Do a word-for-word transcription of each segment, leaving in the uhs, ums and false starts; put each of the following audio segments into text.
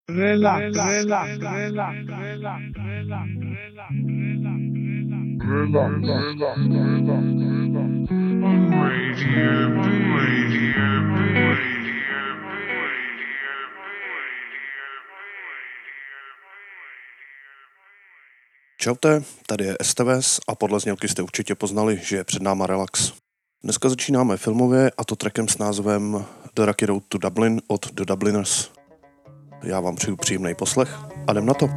Relax, relax, relax, relax, relax, relax, Radio B, Radio B, Radio Čaute, tady je S T V S a podle znělky jste určitě poznali, že je před náma relax. Dneska začínáme filmově a to trackem s názvem The Rocky Road to Dublin od The Dubliners. Já vám přeju příjemný poslech a jdem na to.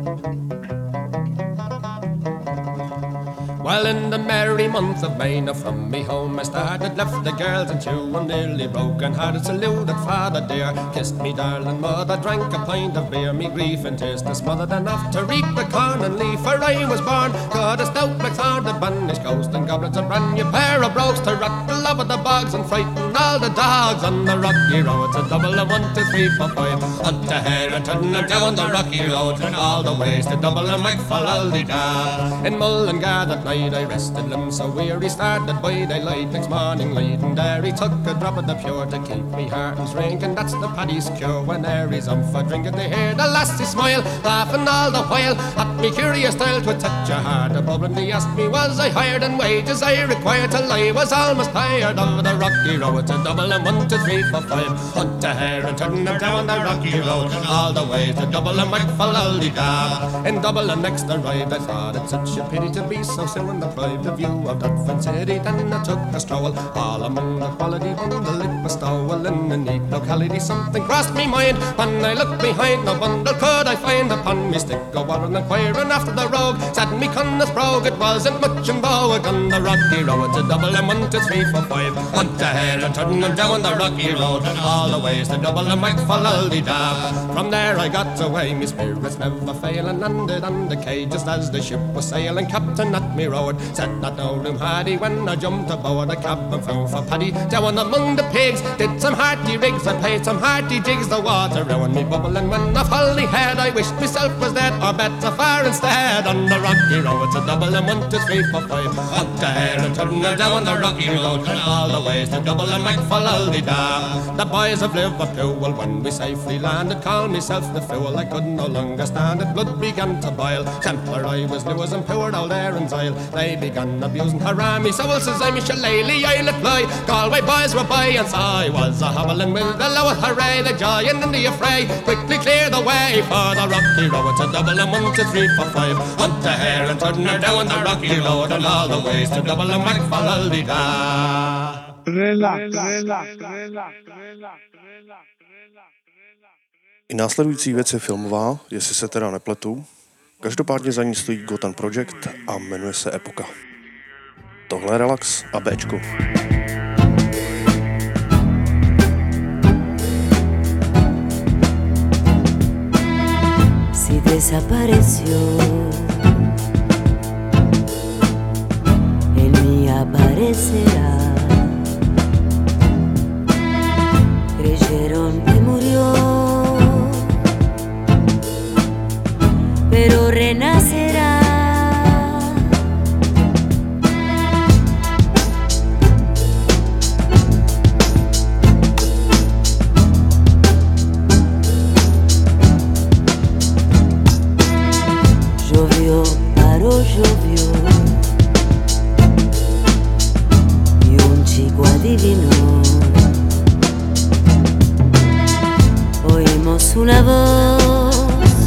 Well, in the merry month of May, now from me home I started, left the girls and two, and nearly broken hearted, saluted father dear, kissed me darling mother, drank a pint of beer, me grief and tears to smothered enough to reap the corn and leaf, for I was born, got a stout black sword, a banished ghost, and goblins a brand new pair of brogues to rock the love of the bogs and frighten all the dogs on the rocky road. To double a one, two, three, four, five, up to Herrington and down the rocky road, and all the ways to double a McFallaldy-da. In Mullingar that night I rested limbs so weary, started by daylight next morning light, and there he took a drop of the pure to keep me heart and drink, and that's the paddy's cure. When there he's up for drinking, they hear the lassie smile, laughing all the while at me curious style to touch a heart above, and he asked me was I hired, and wages I required till I was almost tired of the rocky road. To double and one, two, three, four, five, hunt to hair and turn them down the rocky road, and all the way to double and McFallaldy-da. In double and next arrived, I thought it such a pity to be so soon deprived of view of Dufferin City. Then I took a stroll all among the quality bundle, it was stowel in a neat locality. Something crossed me mind when I looked behind, no bundle could I find upon me stick. Go on inquiring after the rogue, said me cunna's brogue, it wasn't much in vogue on the rocky road. To double and one, two, three, four, five, hunt to hell and turn them down the rocky road, and all the ways to double and McFallaldy-da. From there I got away, me spirits never fail, and landed on the quay just as the ship was sailing. Captain at me road said not no room had he, when I jumped aboard a cab and found for Paddy down among the pigs. Did some hearty rigs and played some hearty jigs, the water round me bubbling when I fully had. I wished myself was dead or better far instead on the rocky road. To double and one, two, three, four, five, up to here and turn down the rocky road, and all the ways to double and McFallaldy-da. The boys of Liverpool, when we safely landed, called myself the fool. I could no longer stand it, blood began to boil, temper I was lewis and poured all there in Zyle. They began abusing Harami, so says I'm a shillelagh, I'll apply. Galway boys were by, and so I was a hobbling with the lower hooray, the giant in the affray. Quickly clear the way for the rocky road. To double and one, two, three, four, five, hunt to here and turn her down the rocky road, and all the ways to double and McFallaldy-da. relax, relax, relax, relax, relax. I následující věc je filmová, jestli se teda nepletu. Každopádně za ní stojí Gotham Project a jmenuje se Epoka. Tohle je relax a Bčko. Si desapareció, él ni aparecerá. Creyeron que murió, pero renacerá. Llovió, paró, llovió, y un chico adivinó. Oímos una voz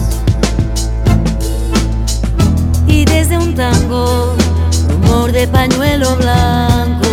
y desde un tango, rumor de pañuelo blanco.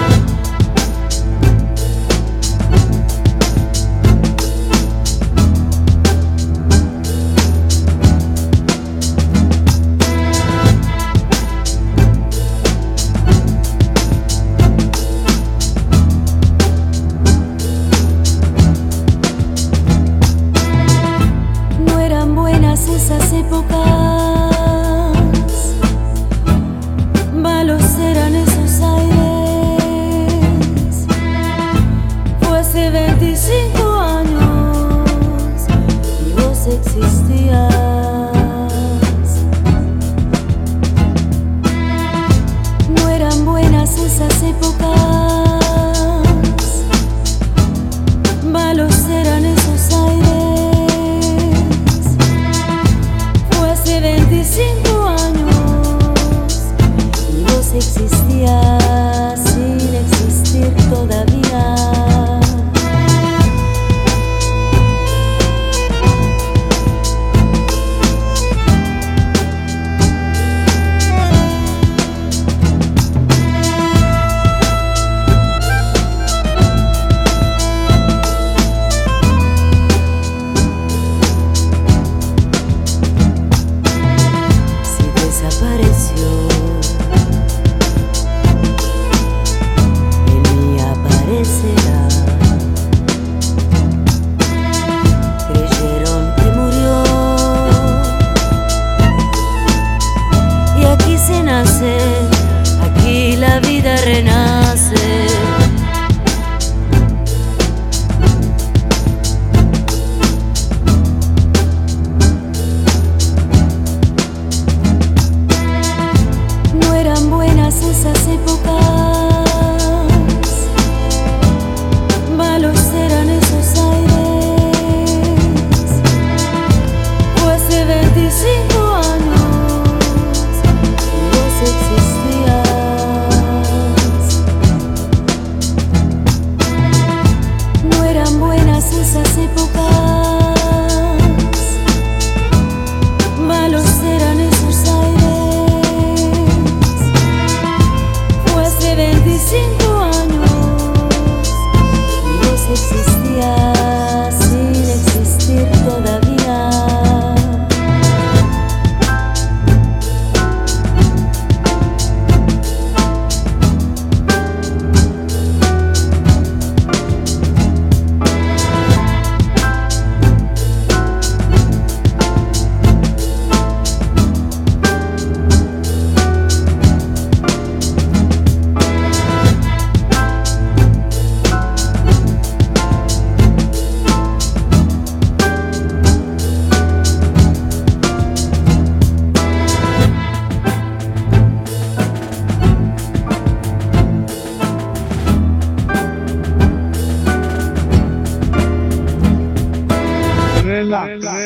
No eran buenas esas épocas, malos eran esos aires. Fue hace veinticinco años y vos existías. No eran buenas esas épocas, malos eran esos aires.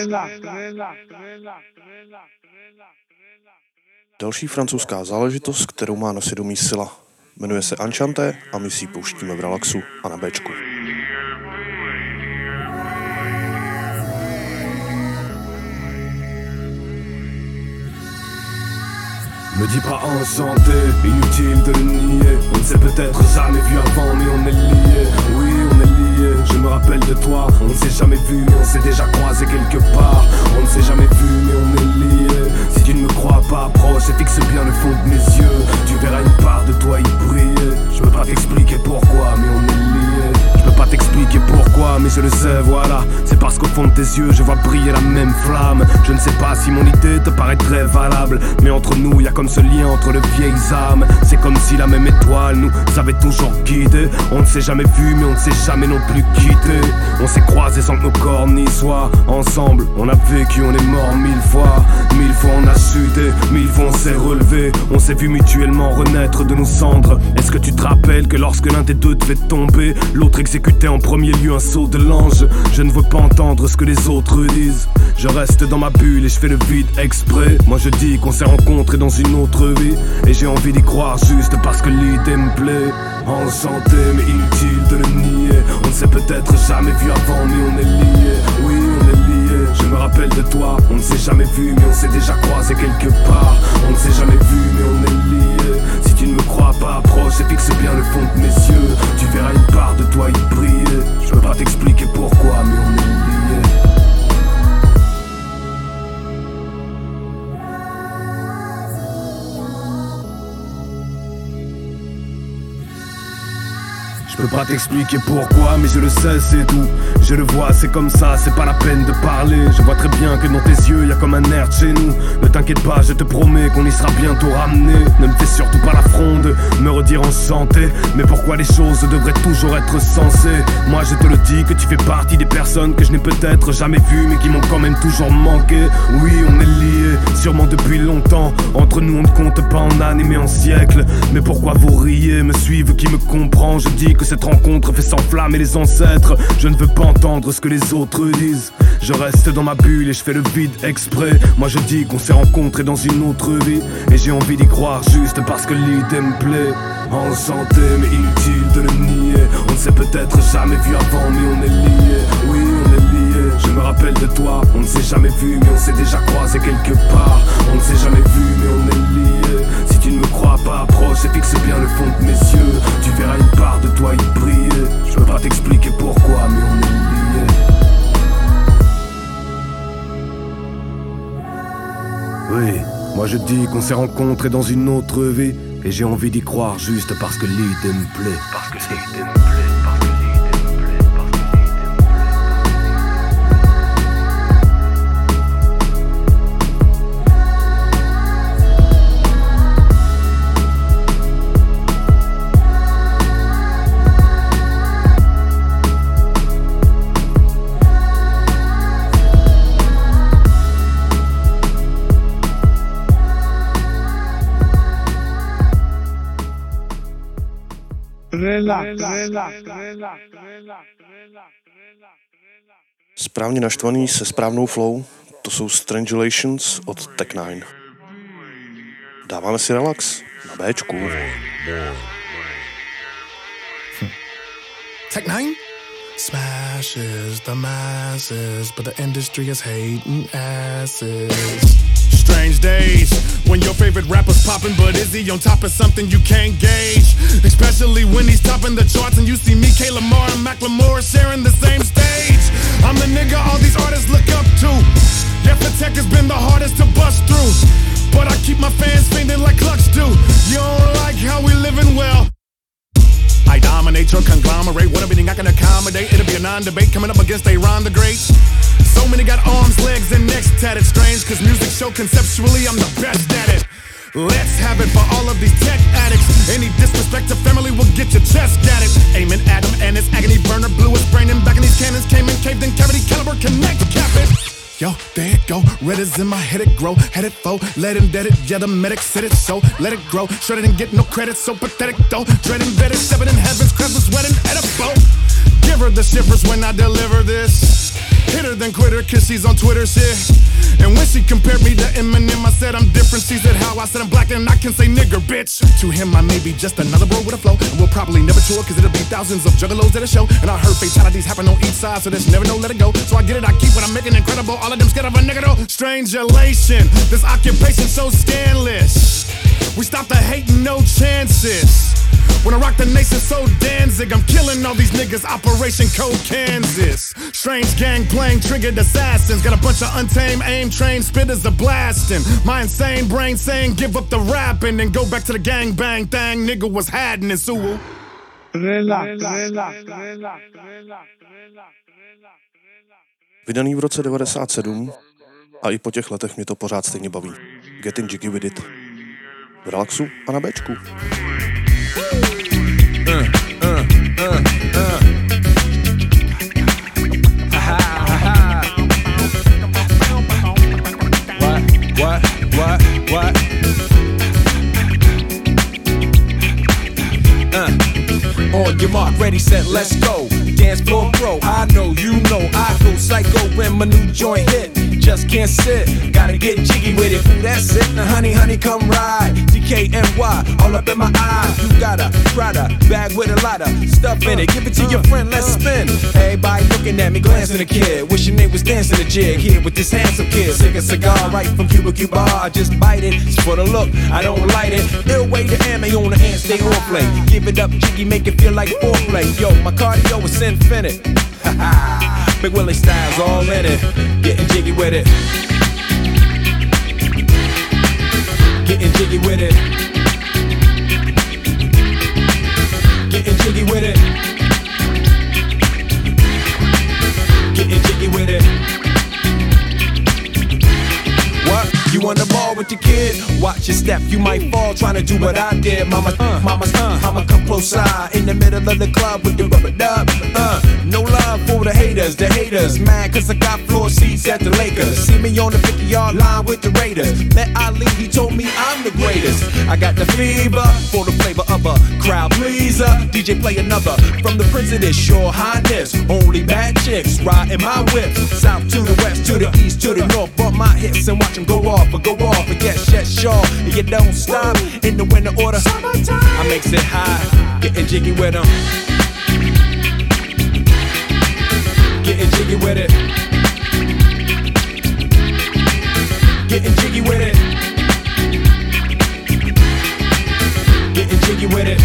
Další francouzská záležitost, kterou má na svědomí Scylla. Jmenuje se Enchanté a my si ji pouštíme v relaxu a na béčku. Me dis pas enchanté, inutile de le nier. On ne s'est peut-être jamais vu avant mais on est liés. Oui on est liés, je me rappelle de toi. On ne s'est jamais vu mais on s'est déjà croisé quelque part. On ne s'est jamais vu mais on est liés. Si tu ne me crois pas, approche et fixe bien le fond de mes yeux. Tu verras une part de toi y briller. Je peux pas t'expliquer pourquoi mais on est liés. Je peux pas t'expliquer pourquoi mais je le sais voilà. C'est parce qu'au fond de tes yeux je vois briller la même flamme. Je ne sais pas si mon idée te paraît très valable, mais entre nous y a comme ce lien entre les vieilles âmes. C'est comme si la même étoile nous avait toujours guidés. On ne s'est jamais vu mais on ne s'est jamais non plus quitté. On s'est croisés sans que nos corps n'y soient. Ensemble on a vécu, on est mort mille fois. Mille fois on a chuté, mille fois on s'est relevé. On s'est vu mutuellement renaître de nos cendres. Est-ce que tu te rappelles que lorsque l'un des deux devait tomber, l'autre exécutait en premier lieu un saut de l'ange? Je ne veux pas entendre ce que les autres disent. Je reste dans ma bulle et je fais le vide exprès. Moi je dis qu'on s'est rencontrés dans une autre vie, et j'ai envie d'y croire juste parce que l'idée me plaît. Enchanté mais inutile de le nier. On ne s'est peut-être jamais vu avant mais on est liés. Oui on est liés, je me rappelle de toi. On ne s'est jamais vu mais on s'est déjà croisé quelque part. On ne s'est jamais vu mais on est liés. Si tu ne me crois pas, approche et fixe bien le fond de mes yeux. Tu verras une part de toi y briller. Je peux pas t'expliquer pourquoi mais on est liés. Je peux pas t'expliquer pourquoi, mais je le sais, c'est tout. Je le vois, c'est comme ça, c'est pas la peine de parler. Je vois très bien que dans tes yeux, y a comme un air de chez nous. Ne t'inquiète pas, je te promets qu'on y sera bientôt ramené. Ne me fais surtout pas la fronde, me redire enchanté. Mais pourquoi les choses devraient toujours être sensées? Moi je te le dis que tu fais partie des personnes que je n'ai peut-être jamais vues, mais qui m'ont quand même toujours manqué. Oui, on est liés, sûrement depuis longtemps. Entre nous on ne compte pas en années mais en siècles. Mais pourquoi vous riez, me suivre, qui me comprend? Je dis que cette rencontre fait s'enflammer les ancêtres. Je ne veux pas entendre ce que les autres disent. Je reste dans ma bulle et je fais le vide exprès. Moi je dis qu'on s'est rencontrés dans une autre vie, et j'ai envie d'y croire juste parce que l'idée me plaît. Enchanté mais inutile de le nier. On ne s'est peut-être jamais vu avant mais on est liés. Oui on est liés, je me rappelle de toi. On ne s'est jamais vu mais on s'est déjà croisé quelque part. On ne s'est jamais vu mais on est liés. Si tu ne me crois pas, approche et fixe bien le fond de mes yeux. Tu verras une part de toi y briller. Je peux pas t'expliquer pourquoi mais on est liés. Oui, moi je dis qu'on s'est rencontrés dans une autre vie, et j'ai envie d'y croire juste parce que l'idée me plaît. Parce que l'idée me plaît. Správně naštvaný se správnou flow, to jsou Strangulations od Tech nine. Dáváme si relax na béčku. Tech nine smashes the masses, but the industry is hating asses. Strange days when your favorite rapper's popping, but is he on top of something you can't gauge? Especially when he's topping the charts and you see me, K. Lamar and Macklemore sharing the same stage. I'm the nigga all these artists look up to. Yeah, for tech has been the hardest to bust through, but I keep my fans feeling like Clutch do. You don't like how we living well? I dominate your conglomerate. What everything I can accommodate, it'll be a non-debate coming up against A-Ron the Great. So many got arms, legs, and necks tatted. Strange, cause music show conceptually I'm the best at it. Let's have it for all of these tech addicts. Any disrespect to family will get your chest at it. Aiming at him and his agony burner blew his brain and back in these cannons came in, caved in cavity caliber connect cap it. Yo, there it go, red is in my head it grow, head it foe, let him dead it, yeah the medic said it so, let it grow, shredded and get no credit, so pathetic though, dread embedded, seven in heaven's crest was wet and edible. Give her the shivers when I deliver this. Hit her then quit her cause she's on Twitter shit. And when she compared me to Eminem, I said I'm different. She said how? I said I'm black and I can say nigger, bitch. To him I may be just another bro with a flow, and we'll probably never tour cause it'll be thousands of juggalos at a show. And I heard fatalities happen on each side, so there's never no let it go. So I get it, I keep what I'm making incredible. All of them scared of a nigga though. Strangulation, this occupation so scandalous. We stop the hating, no chances. When I rock the nation so Danzig, I'm killing all these niggas, Operation Code Kansas. Strange gang playing triggered assassins. Got a bunch of untamed aim trained spitters to blasting. My insane brain saying give up the rapping and go back to the gang bang thing. Nigga was hiding in Sewell. Vydaný v roce devadesát sedm a i po těch letech mě to pořád stejně baví. Getting Jiggy With It. V relaxu a na Bčku. Uh, uh, uh, uh. Ha, ha, ha. What, what, what, what? Uh. On your mark, ready, set, let's go. Dance floor pro, I know, you know, I go psycho when my new joint hit. Just can't sit, gotta get jiggy with it. Ooh, that's it, now honey, honey, come ride. D K N Y, all up in my eye. You got a Prada bag with a lot of stuff in it. Give it to your friend, let's spin. Everybody looking at me, glancing a kid. Wishing they was dancing a jig here with this handsome kid. Sick a cigar right from Cuba Cuba. I just bite it, it's for the look, I don't light it. Ill way to ammo on the hand, stay on play. Give it up, jiggy, make it feel like foreplay. Yo, my cardio is infinite. Ha ha. Big Willie style's all in it. Getting jiggy with it. Getting jiggy with it. Getting jiggy with it. Getting jiggy with it. What? You on the ball with your kid? Watch your step, you might fall trying to do what I did. Mama, uh, mama, uh, mama, come close side in the middle of the club with the rubber dub. Uh, no love for the haters, the haters mad cause I got floor seats at the Lakers. See me on the fifty yard line with the Raiders. Met Ali, he told me I'm the greatest. I got the fever for the flavor of a crowd pleaser. D J play another from the Prince of this Sure Highness. Only bad chicks riding my whip. South to the west, to the east, to the north. Bump my hips and watch them go off. But go off and get shit sure you don't stop in the winter order. I makes it high, getting jiggy with them. Getting jiggy with it. Getting jiggy with it. Getting jiggy with it.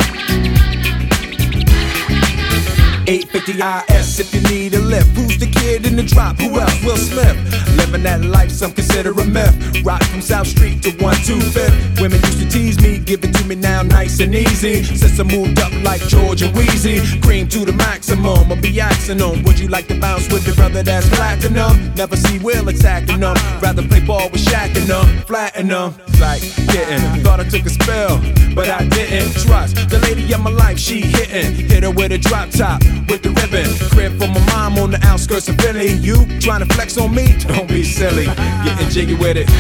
eight fifty I S if you need a lift. Who's the kid in the drop? Who else? Will Smith. Living that life some consider a myth. Rock from South Street to one two fifth. Women used to tease me, give it to me now nice and easy. Since I moved up like George and Wheezy, cream to the maximum. I'll be asking them, would you like to bounce with the brother that's platinum? Never see Will attacking them. Rather play ball with Shaq and them, flatten them. Like getting, thought I took a spell, but I didn't trust the lady of my life. She hitting, hit her with a drop top. With the ribbon, crib for my mom on the outskirts of Philly. You trying to flex on me? Don't be silly. Getting jiggy with it.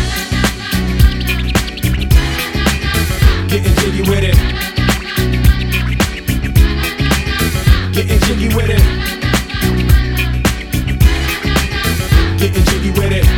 Getting jiggy with it. Getting jiggy with it. Getting jiggy with it.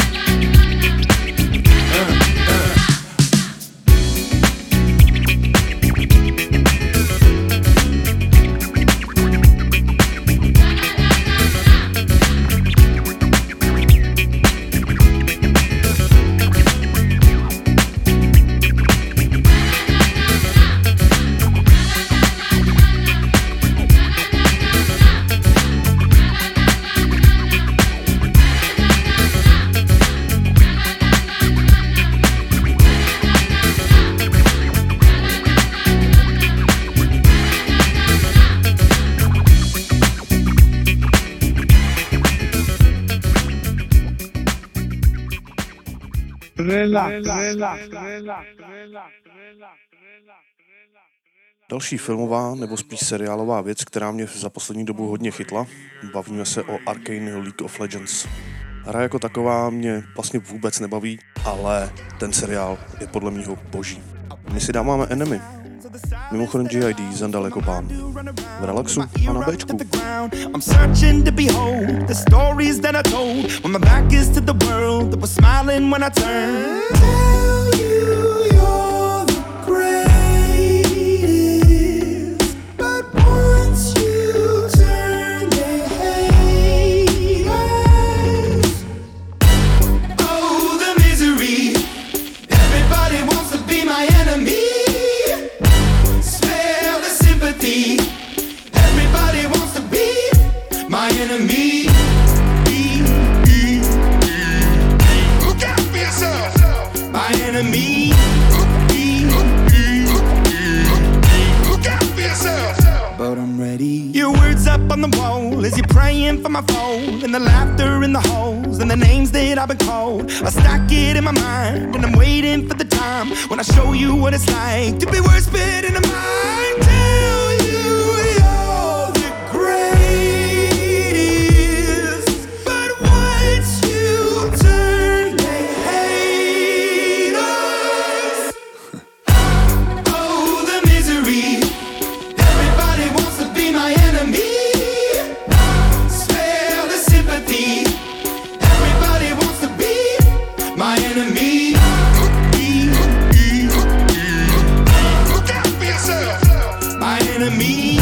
Další filmová nebo spíš seriálová věc, která mě za poslední dobu hodně chytla, bavíme se o Arcane League of Legends. Hra jako taková mě vlastně vůbec nebaví, ale ten seriál je podle mýho boží. My si dáváme Enemy. Mimochodem G I D zandal jako pán. V relaxu a na Bčku. I'm searching to behold the stories that I told when my back is to the world that was smiling when I turned. Tell you you're the greatest, but once you turn they hate us. Oh, the misery. Everybody wants to be my enemy. Smell the sympathy. Everybody wants to be my enemy. Look out for yourself. My enemy. Look out for yourself. But I'm ready. Your words up on the wall as you're praying for my phone, and the laughter in the holes and the names that I've been called. I stack it in my mind and I'm waiting for the time when I show you what it's like to be worse fit in a mind. Tell you you're the greatest, but once you turn they hate us. Oh, the misery. Everybody wants to be my enemy. Spare the sympathy. Everybody wants to be my enemy. Look out for yourself. My enemy.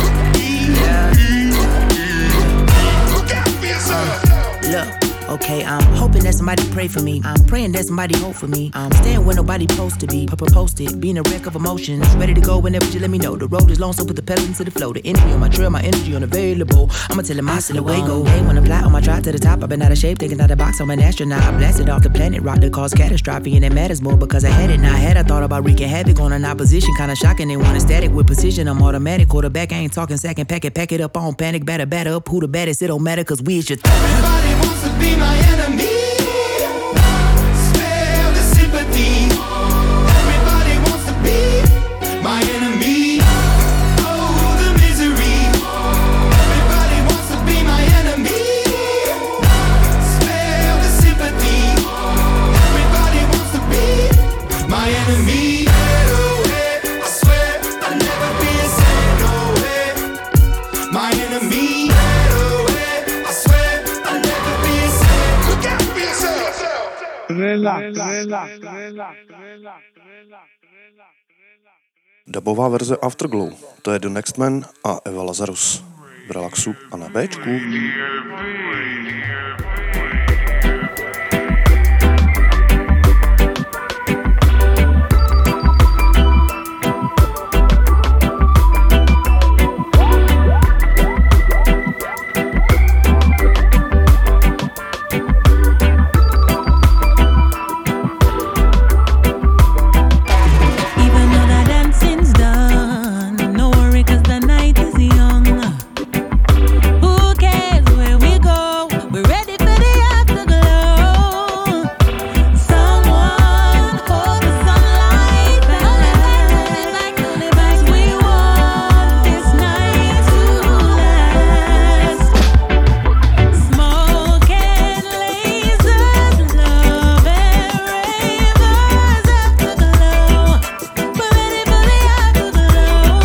Look out for yourself. Look, okay, I'm hoping that somebody pray for me. I'm praying that somebody hope for me. I'm staying where nobody supposed to be. Papa posted, being a wreck of emotions. Ready to go whenever you let me know. The road is long, so put the pedal into the flow. The energy on my trail, my energy unavailable. I'ma tell him I still away go. Hey, when I fly on my drive to the top, I've been out of shape, thinking out the box. I'm an astronaut. I blasted off the planet, rock that caused catastrophe, and it matters more because I had it. Now I had I thought about wreaking havoc on an opposition, kinda shocking. They want a static with precision. I'm automatic. Quarterback, I ain't talking second. Pack it, pack it up on panic. Batter, batter up. Who the baddest? It don't matter, cause we is your th- Everybody wants to be my enemy. Spare the sympathy. Everybody wants to be my enemy. Oh, the misery. Everybody wants to be my enemy. Spare the sympathy. Everybody wants to be my enemy. I swear I'll never be a saint, no way. My enemy. I swear I'll never be a saint. Look out for yourself. Relax, relax, relax. Dabová verze Afterglow, to je The Next Man a Eva Lazarus. V relaxu a na Bčku. Even though the dancing's done, no worry 'cause the night is young. Who cares where we go? We're ready for the afterglow. Someone hold the sunlight back, 'cause we want this night to last. Smoke and lasers, love and ravers, afterglow. We're ready for the afterglow.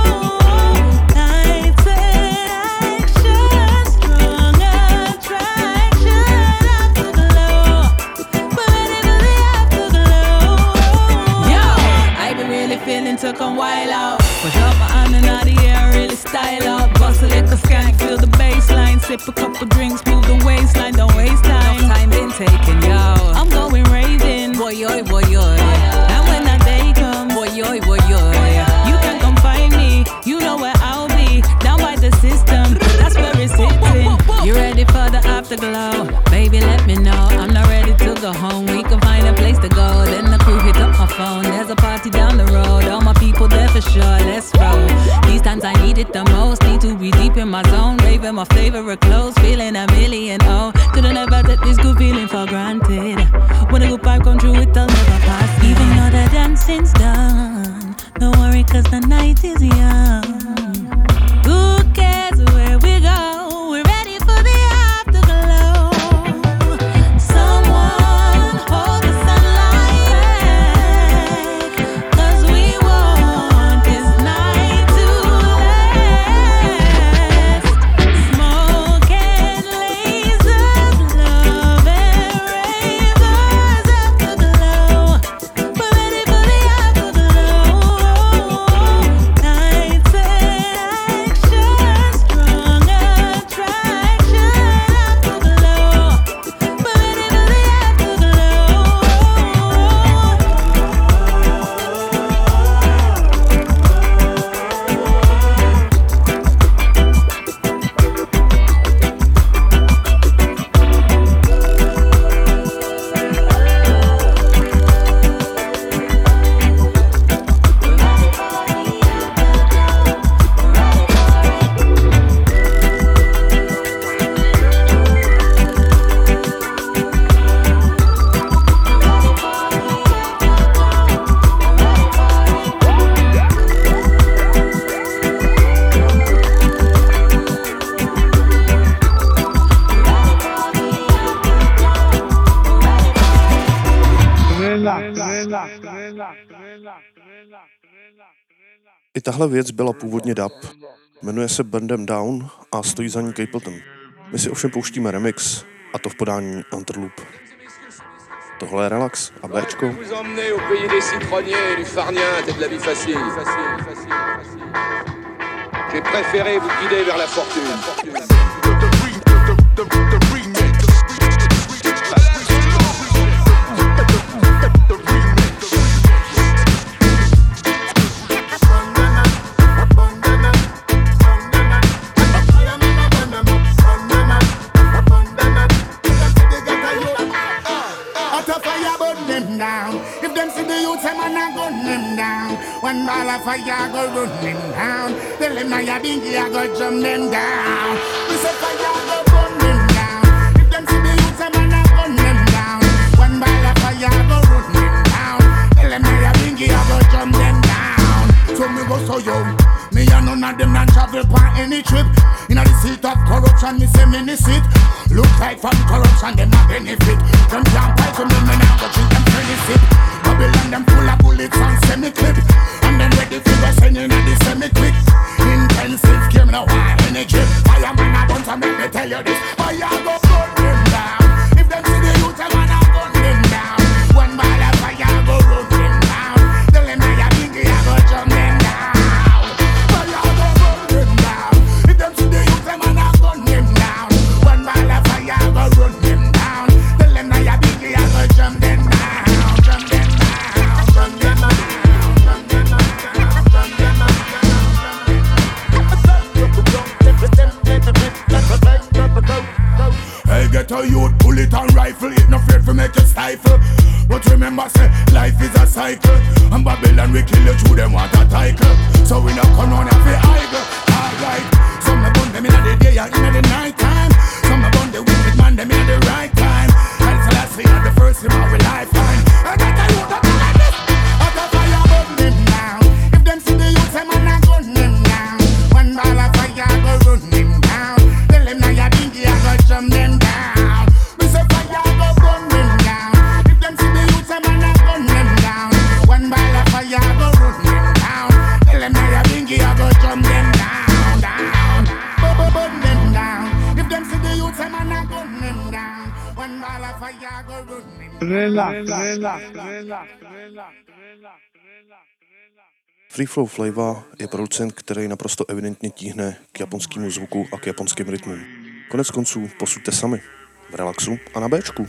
Lights and action, strong attraction, afterglow. We're ready for the afterglow. Yo, I be really feeling to come wild out. Push up my hand and out the air, really style out. Bust a little skank, feel the baseline. Sip a couple drinks, move the waistline, don't waste time. No time been taken, yo. I'm going raving, boy, yoy, boy, yoy. And when that day comes, boy, yoy, boy, yoy. You can come find me, you know where I'll be. Down by the system, that's where it's sitting. You ready for the afterglow? Baby, let me know. I'm not ready to go home. We can find a place to go. Then the crew hit up my phone. There's a party down the road. All my people there for sure. Let's roll. These times I need it the most. Need to be deep in my zone. Raving my favorite clothes. Feeling a million. Oh, could've never take this good feeling for granted. When a good vibe come true, it'll never pass. Even though the dancing's done, don't worry 'cause the night is young. Who cares where we go? We're ready for the afterglow. Someone hold the sunlight back, 'cause we want I tahle věc byla původně dub. Jmenuje se Burn Them Down a stojí za ní Capleton. My si ovšem pouštíme remix, a to v podání Interloop. Tohle je Relax a Bčko. Vous emmener au pays des citronniers et du farniente et de la vie facile. J'ai préféré vous guider vers la fortune. One ball of fire go run them down. Tell them now your bingy I go jump them down. We say fire go run them down. If them see the youth them and I gun them down. One ball of fire go run them down. Tell them now your bingy I go jump them down. So me go so young. Me and none of them not travel on any trip. Inna the seat of corruption, me say me sit. Look like from corruption, them a benefit. Them can't fight to me, me now go treat them pretty sip. Babylon them full of bullets and semi-clip. And then ready for the sending of the semi-quick. Intensive game, no why energy. Fireman a bunch and make me tell you this. Fire go burn them down. If them see the youth, them man a gun them down. One ball of fire go run them down. Tell them now your bingy a go jump them down. Fire go burn them down. If them see the youth, them man a gun them down. One ball of fire go run them down. Tell them now your bingy a go jump them down. Jump them down. Jump them down. Hey, get a youth, bullet and rifle. It no afraid to make you stifle. But remember, say, life is a cycle. And Babylon we kill you through them water title. So we not come on and feel idle. Alright, some me burn them in the day and in the night time. Some me burn the wicked man them in the right time. I'll say last year the first in our lifetime. I get a youth that like this. Out of fire burn them down. If them see the youth, them man a gun them down. One ball of fire go run them down. Tell them now your bingy I go jump them down. We say fire go burn them down. If them see the youth, them man a gun them down. One ball of fire go run them down. Tell them now your bingy I go jump them down, down. Burn them down. If them see the youth, them man a gun them down. One ball of fire go run them down. Relax, relax, relax, relax. Free Flow Flava je producent, který naprosto evidentně tíhne k japonskému zvuku a k japonským rytmům. Konec konců posuďte sami. V Relaxu a na Bčku.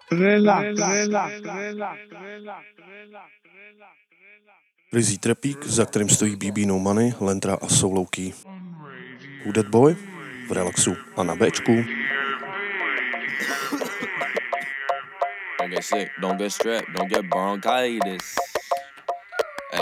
Relax, relax, relax, relax. Rizí trepík, za kterým stojí B B No Money, Lentra a Solo Key. Who That Boy? V relaxu a na Bčku. Don't get sick, don't get strep, don't get bronchitis. Hey.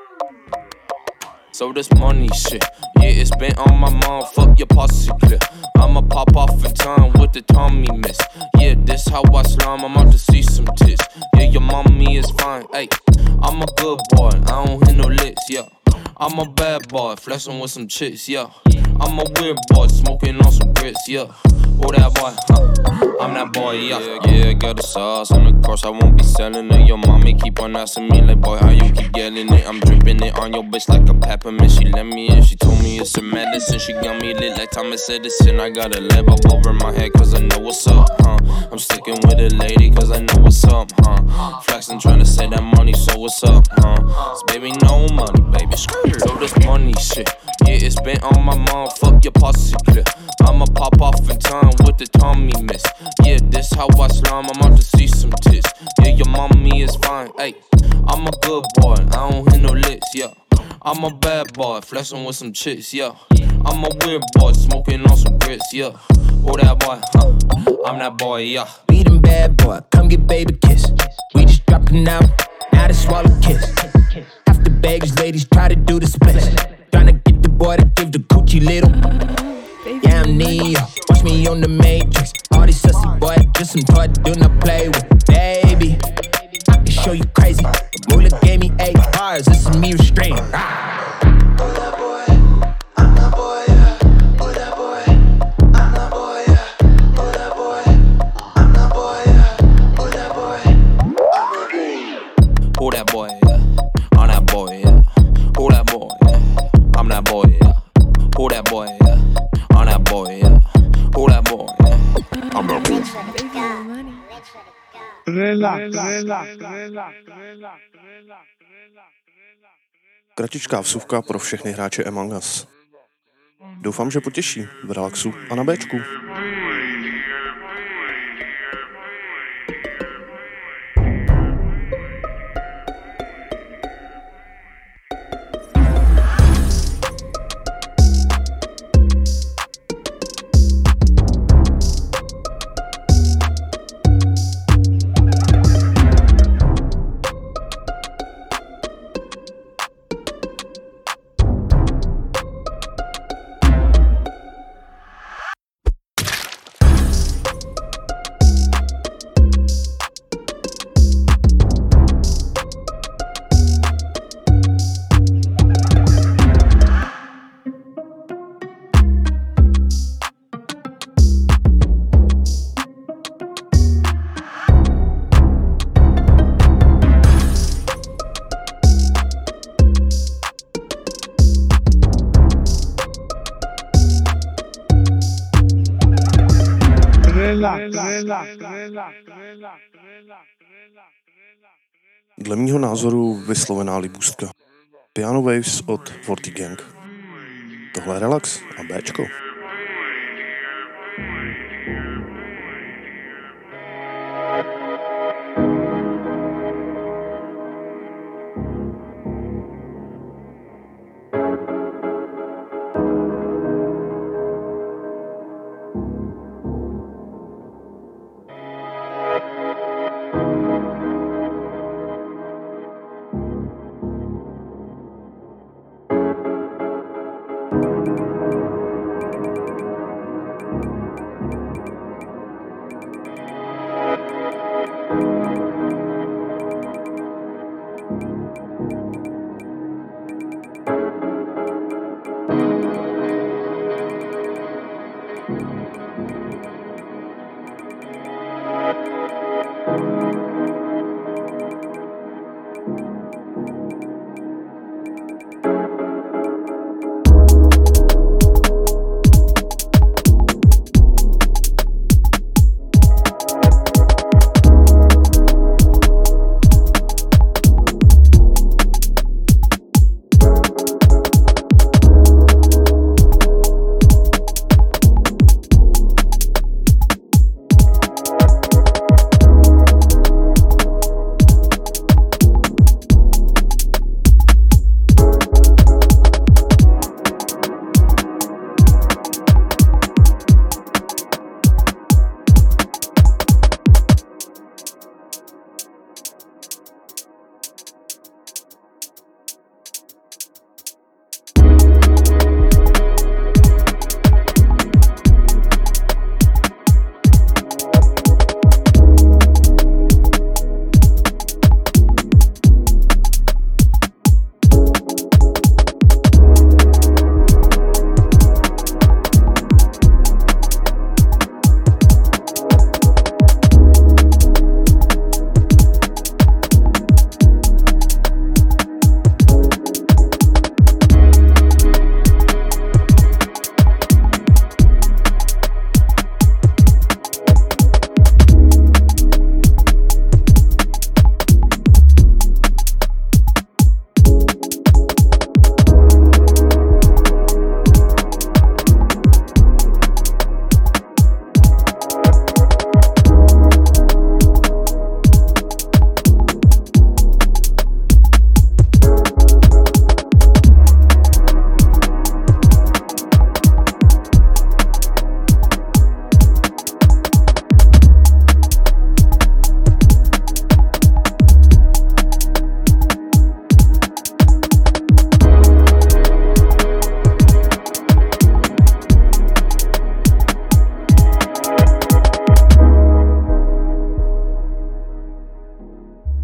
So this money shit, yeah, it's been on my mind, fuck your posse clip. I'ma pop off in time with the Tommy miss. Yeah, this how I slime, I'm out to see some tits. Yeah, your mommy is fine, hey. I'm a good boy, I don't hit no licks, yeah. I'm a bad boy, flexing with some chicks, yeah. I'm a weird boy, smoking on some grits, yeah. Oh, that boy, huh? I'm that boy, yeah. Yeah, yeah, got the sauce on the course, I won't be selling it. Your mommy keep on asking me like, boy, how you keep getting it? I'm dripping it on your bitch like a peppermint. She let me in, she told me it's a medicine. She got me lit like Thomas Edison. I got a lamp up over my head cause I know what's up, huh? I'm sticking with a lady cause I know what's up, huh? Flexing trying to say that money, so what's up, huh? Cause baby, no money, baby, so this money shit, yeah, it's been on my mind, fuck your posse clip. I'ma pop off in time with the Tommy miss. Yeah, this how I slime, I'm out to see some tits. Yeah, your mommy is fine, ayy. I'm a good boy, I don't hit no licks, yeah. I'm a bad boy, flexing with some chicks, yeah. I'm a weird boy, smoking on some grits, yeah. Oh, that boy, huh? I'm that boy, yeah. Be them bad boy, come get baby kiss. We just dropped it now, now they swallow kiss. Half the baggage ladies try to do the split. Tryna get the boy to give the coochie little. Yeah, I'm Neo, watch me on the Matrix. All these sussy boys, just some toy do not play with. Baby, I can show you crazy. Moolah gave me eight bars, this is me restrained. Ah. Who that boy, yeah? I'm that boy, yeah. Who that boy, yeah? I'm that boy, yeah. Who that boy, yeah? I'm that boy, yeah. Who that boy, yeah? I'm that boy. Relax, relax, relax, relax. Kratičká vsuvka pro všechny hráče Among Us. Doufám, že potěší v relaxu a na Bčku. Dle mýho názoru vyslovená libůstka. Piano Waves od Forty Gang. Tohle je relax a Bčko.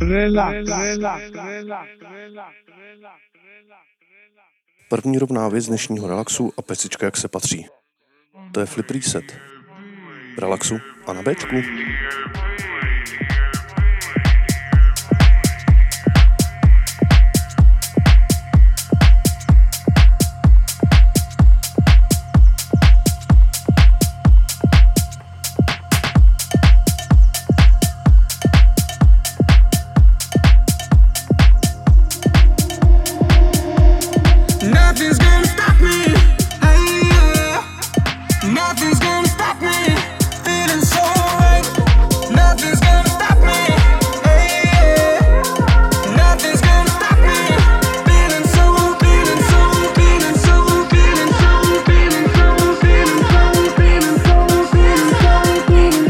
Relax, relax, relax, relax. První rovná věc dnešního relaxu a pecička jak se patří. To je Flip Reset. Relaxu a na Bčku. Nothing's gonna stop me. Hey, yeah. Nothing's gonna stop me. Feeling so right. Nothing's gonna stop me. Hey, yeah. Nothing's gonna stop me. Feeling so, feeling so, feeling so, feeling so, feeling so, feeling so, feeling so, feeling so, feeling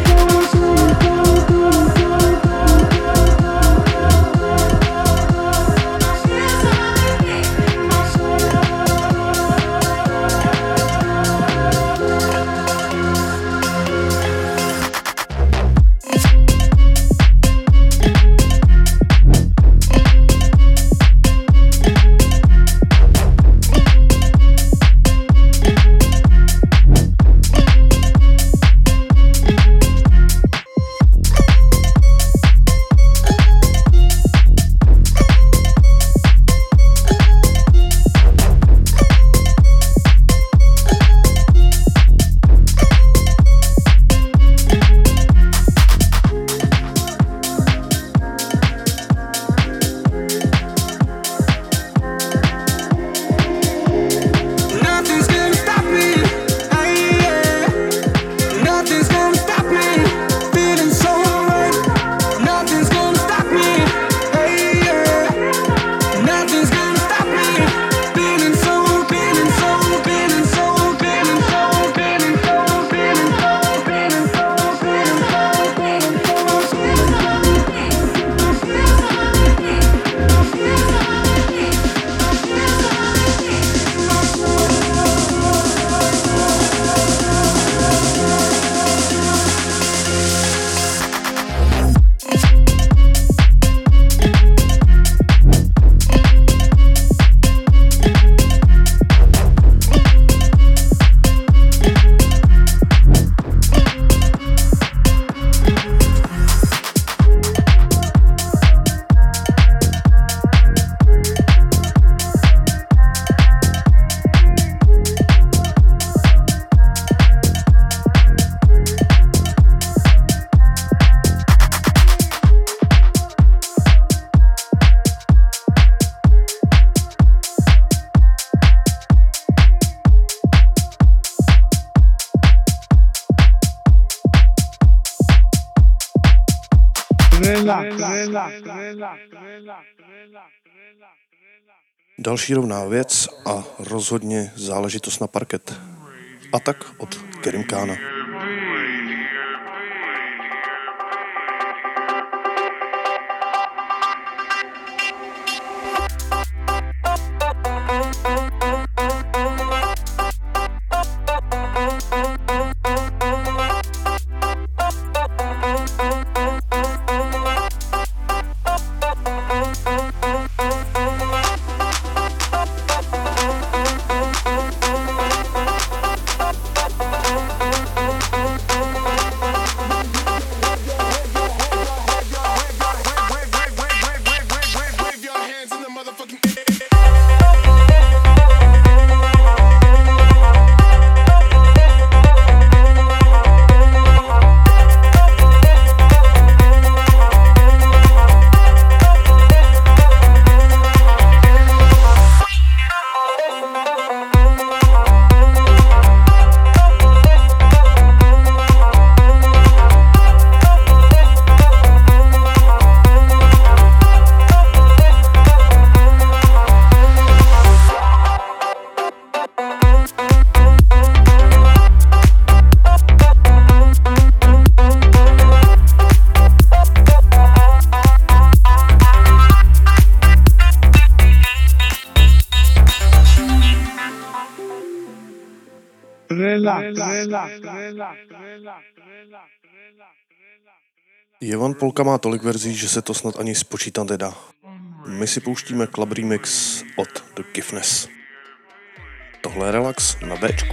Další rovná věc a rozhodně záležitost na parket. A tak od Kerim Kána. relax, relax, relax, relax, relax, relax, relax. Jevan Polka má tolik verzí, že se to snad ani spočítat nedá. My si pouštíme club remix od The Giftness. Tohle je Relax na Bčku.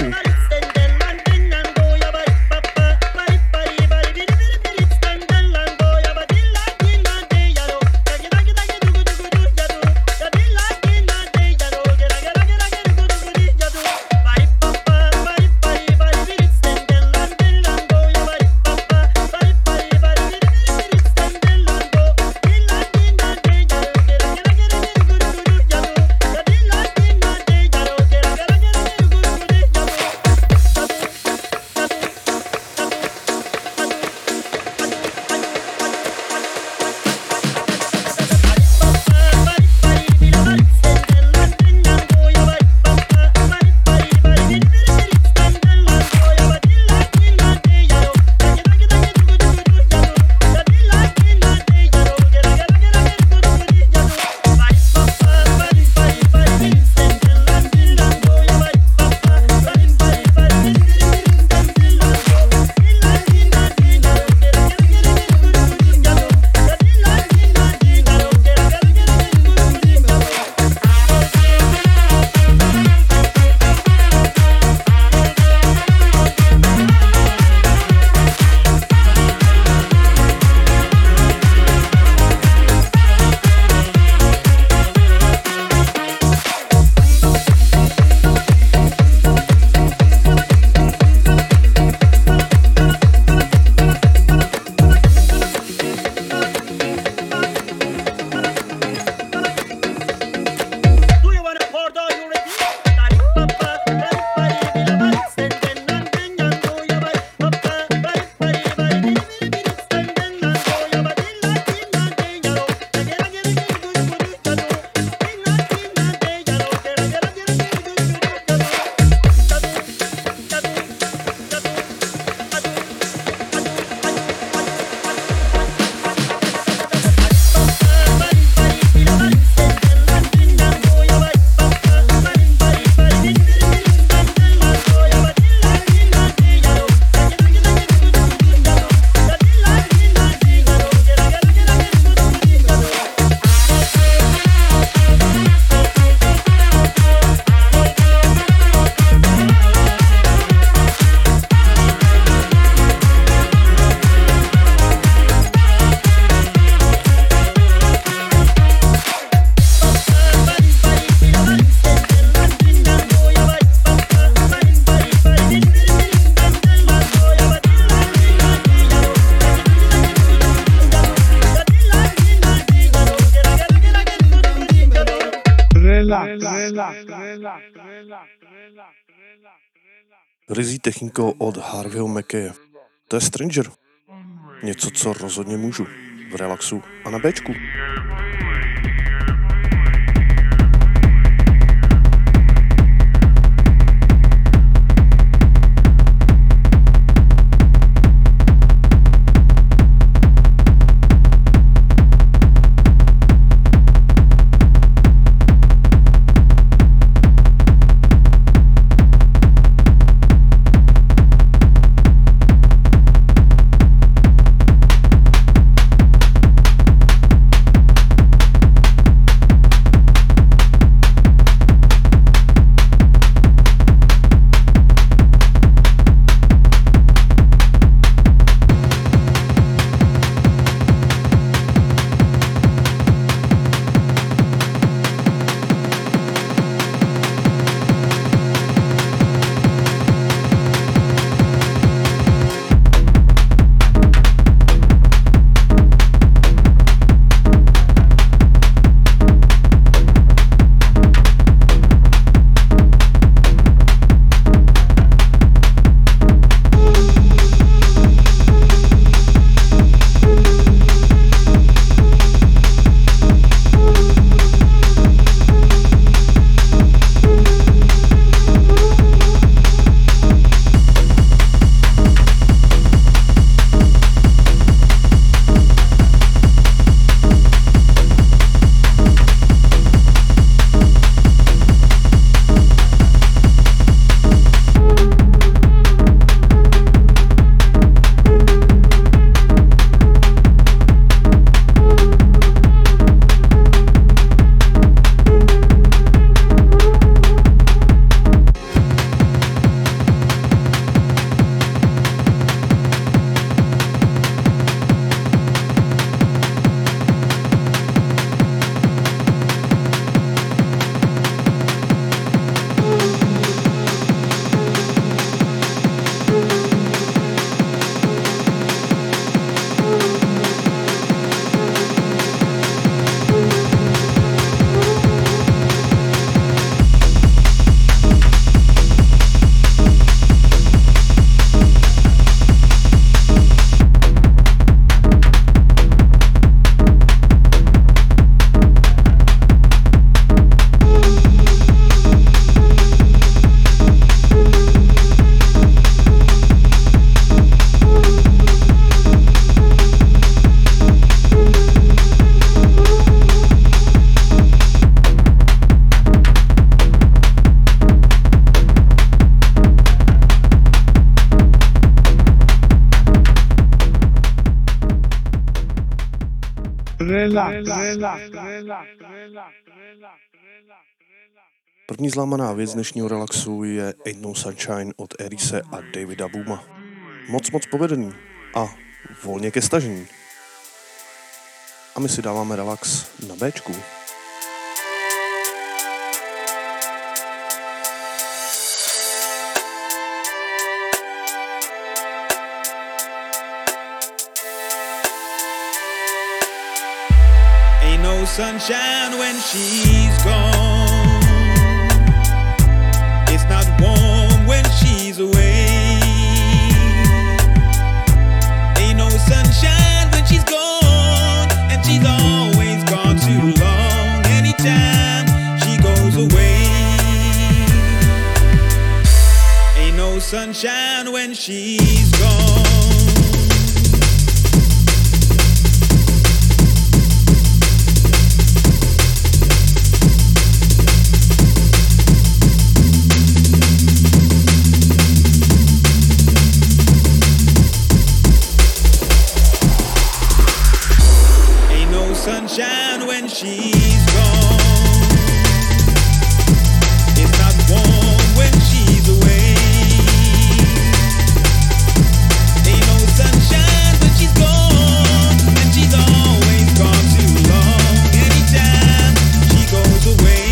Rizí technikou od Harveyho Mackeye. To je Stranger. Něco, co rozhodně můžu. V Relaxu a na Bčku. We'll be right back. První zlámaná věc dnešního relaxu je Ain't No Sunshine od Erise a Davida Booma. Moc moc povedený a volně ke stažení. A my si dáváme relax na Bčku. Ain't no sunshine when she's gone. It's not warm when she's away. Ain't no sunshine when she's gone, and she's always gone too long. Anytime she goes away, ain't no sunshine when she's gone. Sunshine when she's gone. It's not warm when she's away. Ain't no sunshine when she's gone, and she's always gone too long. Anytime she goes away,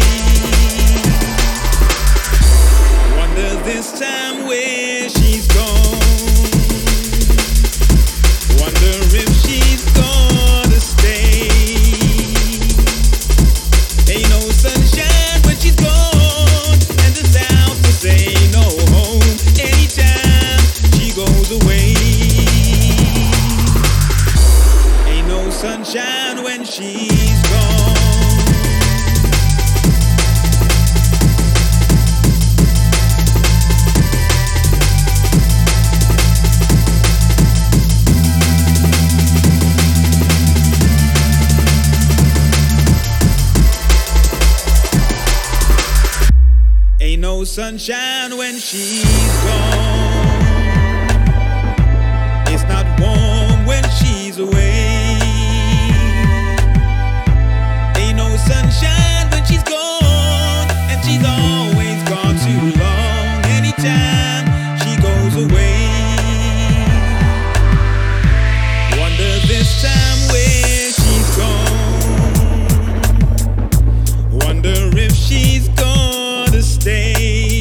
wonder this time where she's gone. Wonder if she's gonna stay. Ain't no sunshine when she's gone, and the sound to say no home. Anytime she goes away, ain't no sunshine when she's gone. Ain't no sunshine when she's gone. It's not warm when she's away. Ain't no sunshine when she's gone, and she's always gone too long. Anytime she goes away, wonder this time where she's gone. Wonder if she's gonna stay.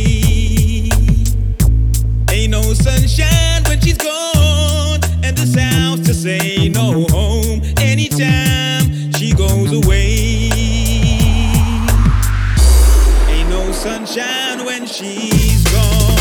Ain't no sunshine when she's gone, and the sounds to say no home. Anytime she goes away, ain't no sunshine when she's gone.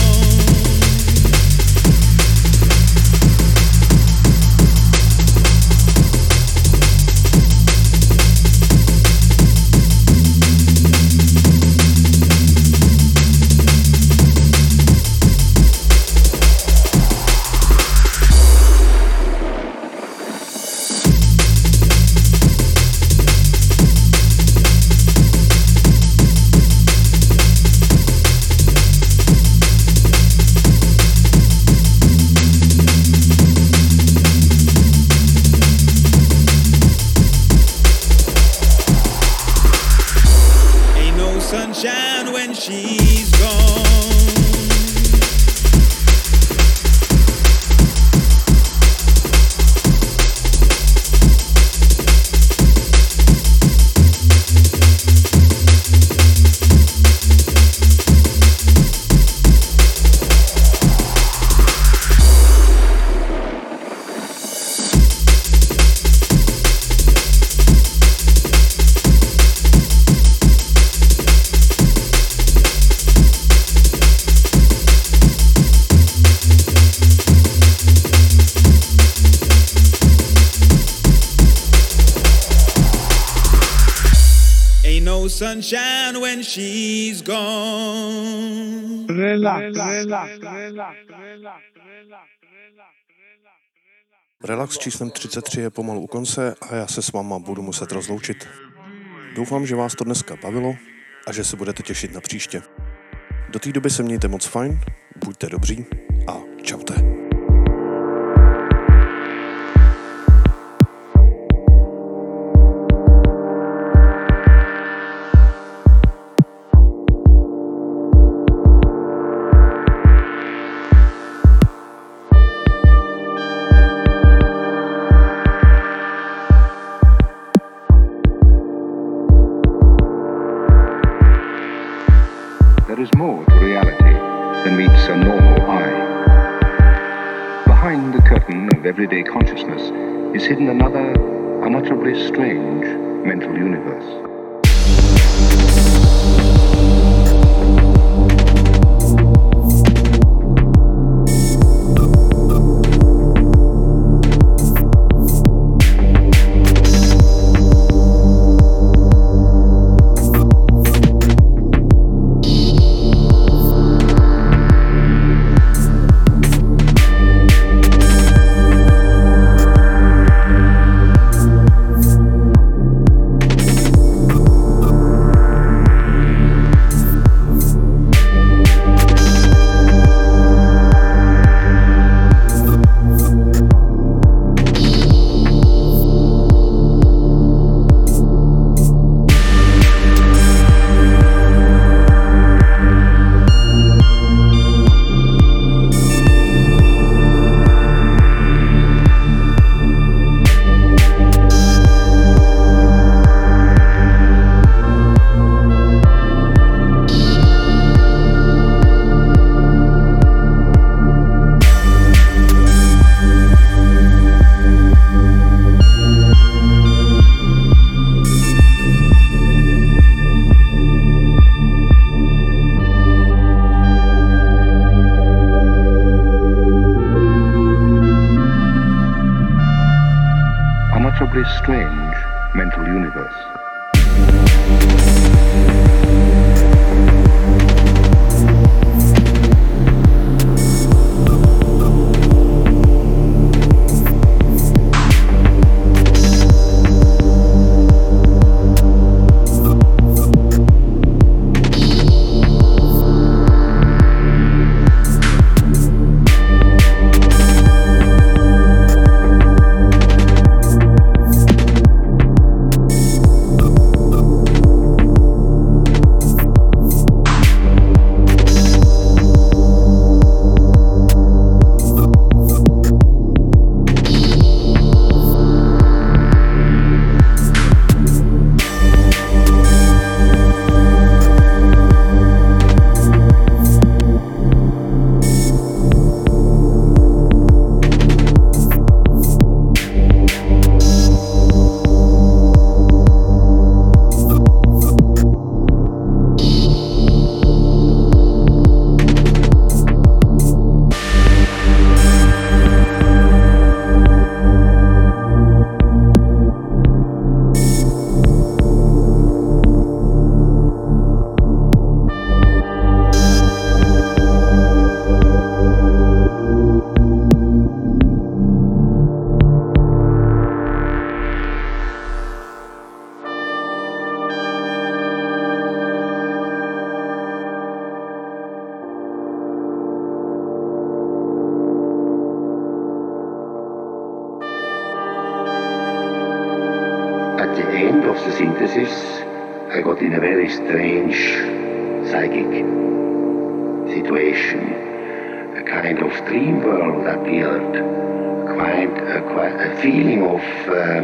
Sunshine when she's gone. No sunshine when she's gone. Relax, relax, relax, Relax číslem třicet tři je pomalu u konce a já se s váma budu muset rozloučit. Doufám, že vás to dneska bavilo a že se budete těšit na příště. Do té doby se mějte moc fajn, buďte dobří a čaute. the curtain of everyday consciousness is hidden another unutterably strange mental universe. Strange mental universe. At the end of the synthesis, I got in a very strange psychic situation. A kind of dream world appeared, quite a, quite a feeling of um,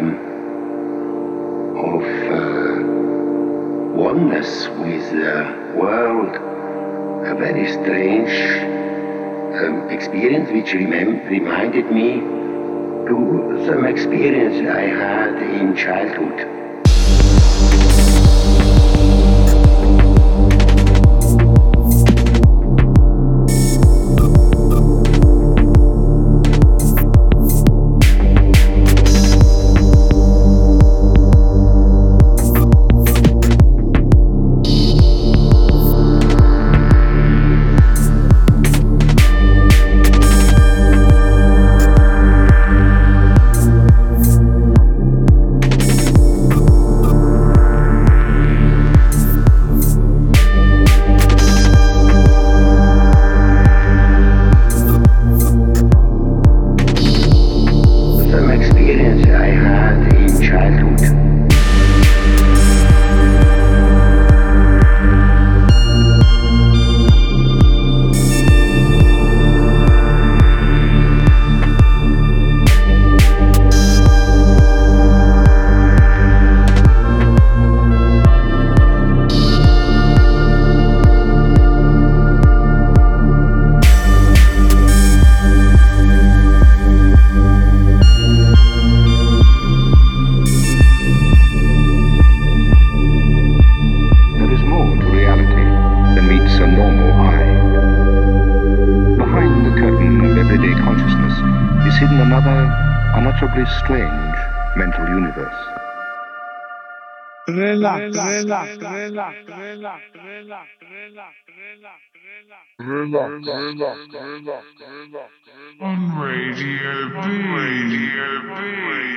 of uh, oneness with the world. A very strange um, experience which remem- reminded me to some experience I had in childhood. rather unutterably strange mental universe. Relax, relax, relax, relax, relax, relax, relax, relax, relax, relax, on Radio B. Radio B.